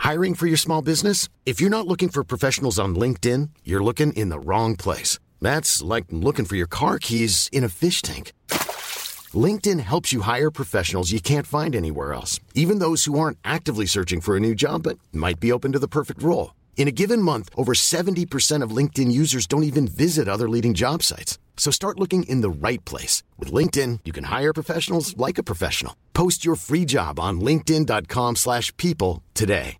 Hiring for your small business? If you're not looking for professionals on LinkedIn, you're looking in the wrong place. That's like looking for your car keys in a fish tank. LinkedIn helps you hire professionals you can't find anywhere else, even those who aren't actively searching for a new job but might be open to the perfect role. In a given month, over 70% of LinkedIn users don't even visit other leading job sites. So start looking in the right place. With LinkedIn, you can hire professionals like a professional. Post your free job on linkedin.com/people today.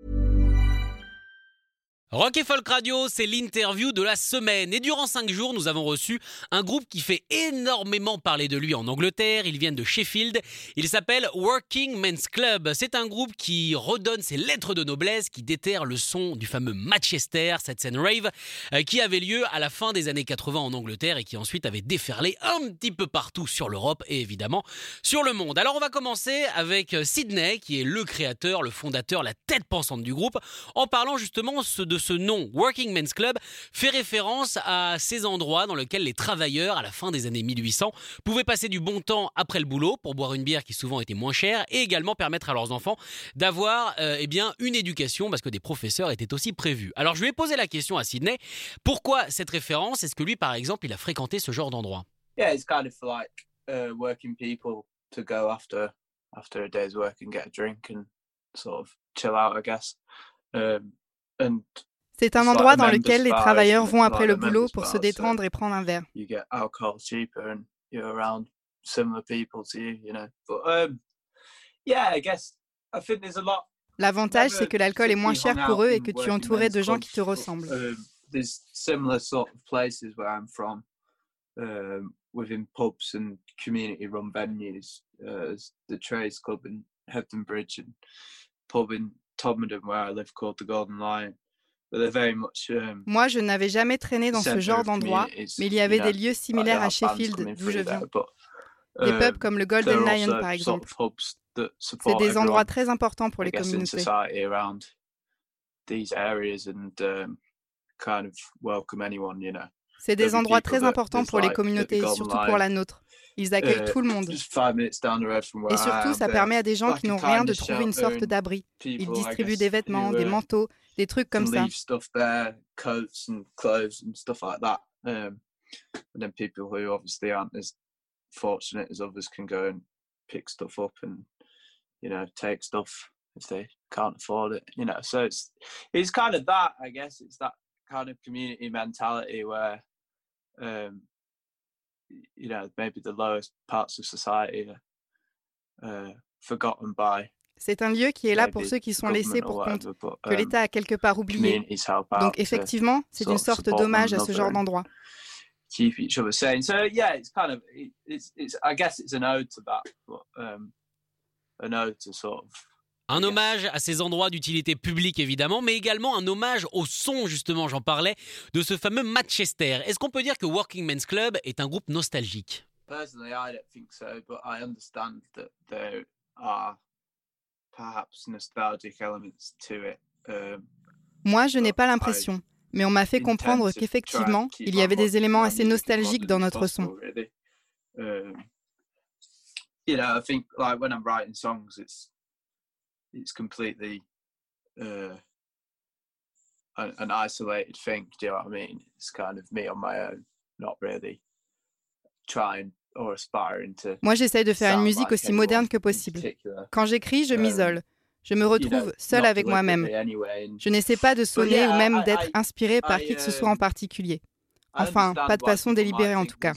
Rock et Folk Radio, c'est l'interview de la semaine. Et durant 5 jours, nous avons reçu un groupe qui fait énormément parler de lui en Angleterre. Ils viennent de Sheffield. Il s'appelle Working Men's Club. C'est un groupe qui redonne ses lettres de noblesse, qui déterre le son du fameux Manchester, cette scène rave, qui avait lieu à la fin des années 80 en Angleterre et qui ensuite avait déferlé un petit peu partout sur l'Europe et évidemment sur le monde. Alors on va commencer avec Sydney, qui est le créateur, le fondateur, la tête pensante du groupe, en parlant justement de ce nom, Working Men's Club, fait référence à ces endroits dans lesquels les travailleurs, à la fin des années 1800, pouvaient passer du bon temps après le boulot pour boire une bière qui souvent était moins chère et également permettre à leurs enfants d'avoir une éducation parce que des professeurs étaient aussi prévus. Alors je lui ai posé la question à Sydney, pourquoi cette référence? Est-ce que lui, par exemple, il a fréquenté ce genre d'endroit? Yeah, it's kind of like working people to go after a day's work and get a drink and sort of chill out, I guess. C'est un endroit dans lequel les travailleurs vont après le boulot pour se détendre et prendre un verre. You get alcohol cheaper and you're around similar people to you, you know. But yeah, I guess I think there's a lot. L'avantage, c'est que l'alcool est moins cher pour eux et que tu es entouré de gens qui te ressemblent. There's similar sort of places where I'm from, within pubs and community-run venues, the Trades Club in Hebden Bridge and pub in Todmorden where I live called the Golden Lion. Moi, je n'avais jamais traîné dans ce genre d'endroit, mais il y avait des lieux similaires à Sheffield, d'où je viens. Des pubs comme le Golden Lion, par exemple. C'est des endroits très importants pour les communautés. C'est des endroits très importants pour les communautés, surtout pour la nôtre. Ils accueillent tout le monde. Et surtout, ça permet à des gens qui n'ont rien de trouver une sorte d'abri. Ils distribuent des vêtements, des manteaux, des trucs comme ça. Fortunate as others can go and pick stuff up and, you know, take stuff if they can't afford it, you know. So it's kind of that, I guess. It's that kind of community mentality where, you know, maybe the lowest parts of society are forgotten by. C'est un lieu qui est là pour ceux qui sont laissés pour compte, que l'État a quelque part oublié. Donc effectivement, c'est une sorte d'hommage à ce genre d'endroit. Keep each other sane. So yeah, it's kind of it's I guess it's an ode to that, but an ode to sort of. Un hommage à ces endroits d'utilité publique évidemment, mais également un hommage au son, justement, j'en parlais, de ce fameux Manchester. Est-ce qu'on peut dire que Working Men's Club est un groupe nostalgique? Personally, I don't think so, but I understand that there are perhaps nostalgic elements to it. Moi, je n'ai pas l'impression. Mais on m'a fait comprendre qu'effectivement, il y avait des éléments assez nostalgiques dans notre son. You know, I think like when I'm writing songs, it's completely an isolated thing. Do you know what I mean? It's kind of me on my own, not really trying or aspiring to. Moi, j'essaye de faire une musique aussi moderne que possible. Quand j'écris, je m'isole. Je me retrouve seule avec moi-même. Je n'essaie pas de sonner ou même d'être inspirée par qui que ce soit en particulier. Enfin, pas de façon délibérée en tout cas.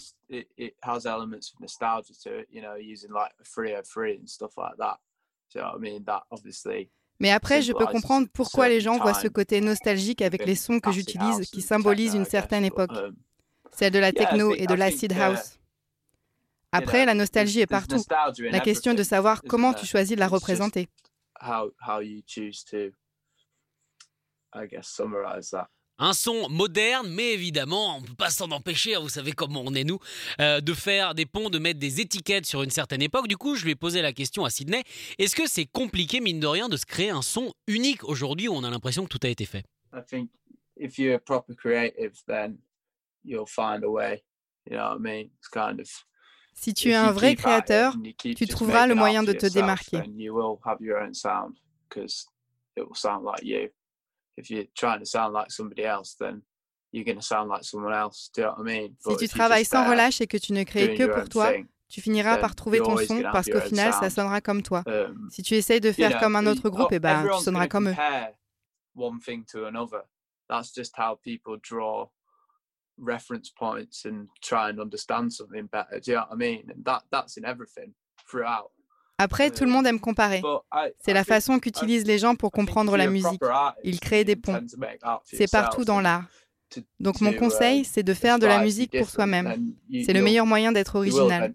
Mais après, je peux comprendre pourquoi les gens voient ce côté nostalgique avec les sons que j'utilise qui symbolisent une certaine époque. Celle de la techno et de l'acid house. Après, la nostalgie est partout. La question est de savoir comment tu choisis de la représenter. How you choose to, I guess, summarize that. Un son moderne, mais évidemment, on ne peut pas s'en empêcher, vous savez comment on est nous, de faire des ponts, de mettre des étiquettes sur une certaine époque. Du coup, je lui ai posé la question à Sydney, est-ce que c'est compliqué, mine de rien, de se créer un son unique aujourd'hui où on a l'impression que tout a été fait? I think if you're a proper creative, then you'll find a way, you know what I mean? It's kind of... Si tu es un vrai créateur, tu trouveras le moyen de te démarquer. it will sound like you. If you're trying to sound like somebody else, then you're going to sound like someone else. Do you know what I mean? Si tu travailles sans relâche et que tu ne crées que pour toi, tu finiras par trouver ton son parce qu'au final, ça sonnera comme toi. Si tu essayes de faire comme un autre groupe, tu sonneras comme eux. One thing to another. That's just how people draw reference points and try and understand something better. Do you know what I mean? And that's in everything throughout. Après, tout le monde aime comparer. C'est la façon qu'utilisent les gens pour comprendre la musique. Ils créent des ponts. C'est partout dans l'art. Donc mon conseil, c'est de faire de la musique pour soi-même. C'est le meilleur moyen d'être original.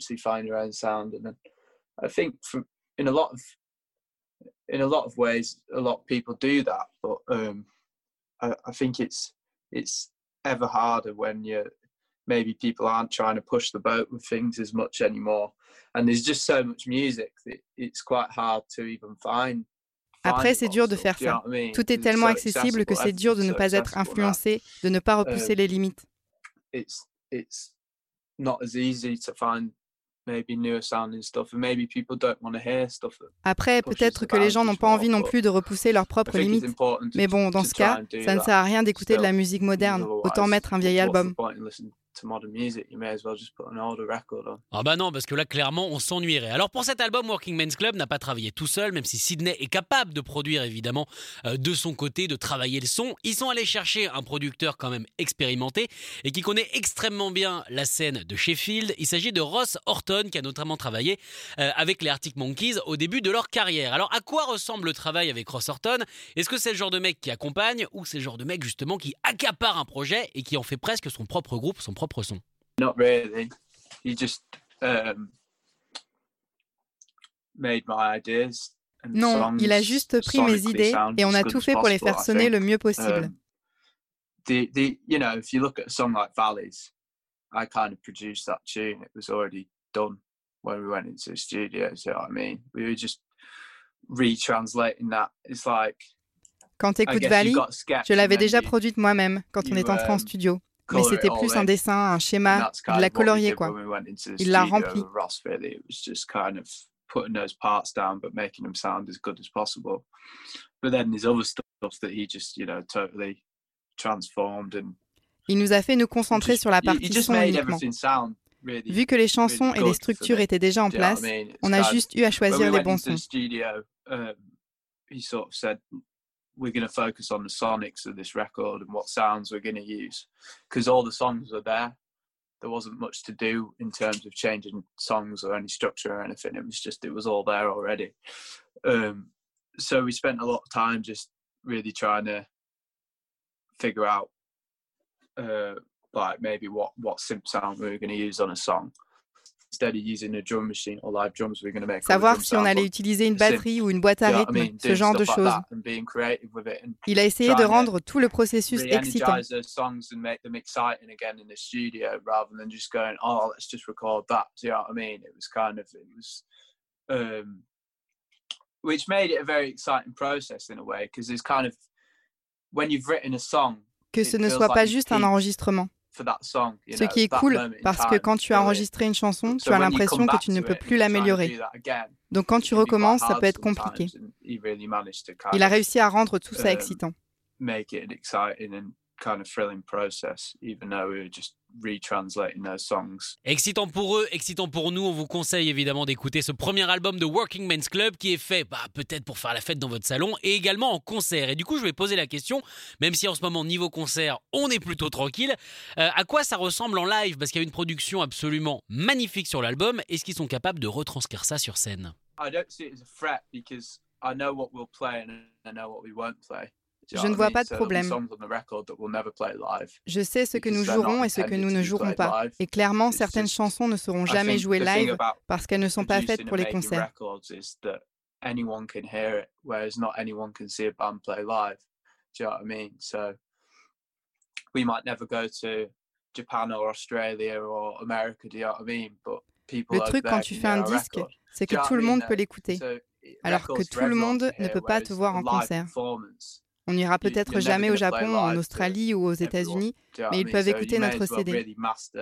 In a lot of ways, a lot of people do that, but I think it's ever harder when maybe people aren't trying to push the boat with things as much anymore, and there's just so much music that it's quite hard to even find. Après, c'est dur de faire ça. Tout est tellement accessible que c'est dur de ne pas être influencé, de ne pas repousser les limites. It's not as easy to find maybe newer sounding stuff, and maybe people don't want to hear stuff. Après, peut-être que les gens n'ont pas envie non plus de repousser leurs propres limites. Mais bon, dans ce cas, ça ne sert à rien d'écouter de la musique moderne. Autant mettre un vieil album. Ah bah non, parce que là, clairement, on s'ennuierait. Alors pour cet album, Working Men's Club n'a pas travaillé tout seul, même si Sydney est capable de produire, évidemment, de son côté, de travailler le son. Ils sont allés chercher un producteur quand même expérimenté et qui connaît extrêmement bien la scène de Sheffield. Il s'agit de Ross Horton, qui a notamment travaillé avec les Arctic Monkeys au début de leur carrière. Alors à quoi ressemble le travail avec Ross Horton ? Est-ce que c'est le genre de mec qui accompagne ou c'est le genre de mec justement qui accapare un projet et qui en fait presque son propre groupe, son propre son? Not really. He just made my ideas. Non, il a juste pris mes idées et on a tout fait pour les faire sonner le mieux possible. You know, if you look at a song like Valleys, I kind of produced that tune. It was already done when we went into the studio. You know what I mean? We were just retranslating that. It's like. Quand t'écoutes Valley, je l'avais déjà produite moi-même quand on est entré en studio. Mais c'était plus un dessin, un schéma, de la colorier, quoi. Il l'a rempli. Putting those parts down, but making them sound as good as possible. But then there's other stuff that he just, you know, totally transformed and. Il nous a fait nous concentrer sur la partie son uniquement. Vu que les chansons et les structures étaient déjà en place, on a juste eu à choisir les bons sons. He sort of said, we're going to focus on the sonics of this record and what sounds we're going to use, because all the songs were there. There wasn't much to do in terms of changing songs or any structure or anything. It was all there already. So we spent a lot of time just really trying to figure out like maybe what synth sound we were going to use on a song. Instead of using a drum machine or live drums, we were going to make. Savoir si on allait utiliser une batterie ou une boîte à rythme, ce genre de choses. Il a essayé de rendre tout le processus excitant. Songs and make them exciting again in the studio, rather than just going, oh, let's just record that. Do you know what I mean? It was, which made it a very exciting process in a way, because it's kind of when you've written a song. Que ce ne soit pas juste un enregistrement. Ce qui est cool, parce que quand tu as enregistré une chanson, tu as l'impression que tu ne peux plus l'améliorer. Donc quand tu recommences, ça peut être compliqué. Il a réussi à rendre tout ça excitant. Kind of thrilling process, even though we were just retranslating those songs. Excitant pour eux, excitant pour nous. On vous conseille évidemment d'écouter ce premier album de Working Men's Club qui est fait peut-être pour faire la fête dans votre salon et également en concert. Et du coup, je vais poser la question, même si en ce moment, niveau concert, on est plutôt tranquille, à quoi ça ressemble en live ? Parce qu'il y a une production absolument magnifique sur l'album. Est-ce qu'ils sont capables de retranscrire ça sur scène ? I don't see it as a threat because I know what we'll play and I know what we won't play. Je ne vois pas de problème. Je sais ce que nous jouerons et ce que nous ne jouerons pas. Et clairement, certaines chansons ne seront jamais jouées live parce qu'elles ne sont pas faites pour les concerts. Le truc quand tu fais un disque, c'est que tout le monde peut l'écouter, alors que tout le monde ne peut pas te voir en concert. On n'ira peut-être jamais au Japon, en Australie ou aux États-Unis, mais ils peuvent écouter notre CD.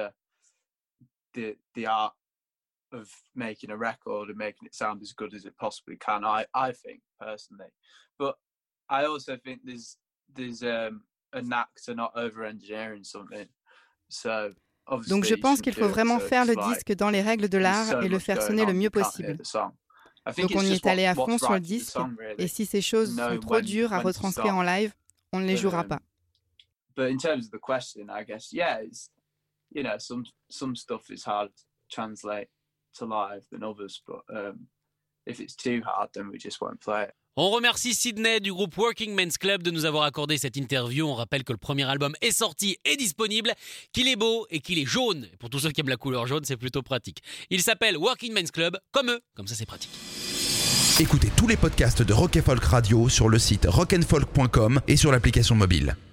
Of making a record and making it sound as good as it possibly can, I think personally. But I also think there's a knack to not over-engineering something. So donc je pense qu'il faut vraiment faire le disque dans les règles de l'art et le faire sonner le mieux possible. Donc on y est allé à fond sur le disque, et si ces choses sont trop dures à retranscrire en live, on ne les jouera pas. But in terms of the question, I guess, yeah, it's, you know, some stuff is hard to translate to live than others, but if it's too hard, then we just won't play it. On remercie Sydney du groupe Working Men's Club de nous avoir accordé cette interview. On rappelle que le premier album est sorti et disponible, qu'il est beau et qu'il est jaune. Et pour tous ceux qui aiment la couleur jaune, c'est plutôt pratique. Il s'appelle Working Men's Club, comme eux, comme ça c'est pratique. Écoutez tous les podcasts de Rock & Folk Radio sur le site rockandfolk.com et sur l'application mobile.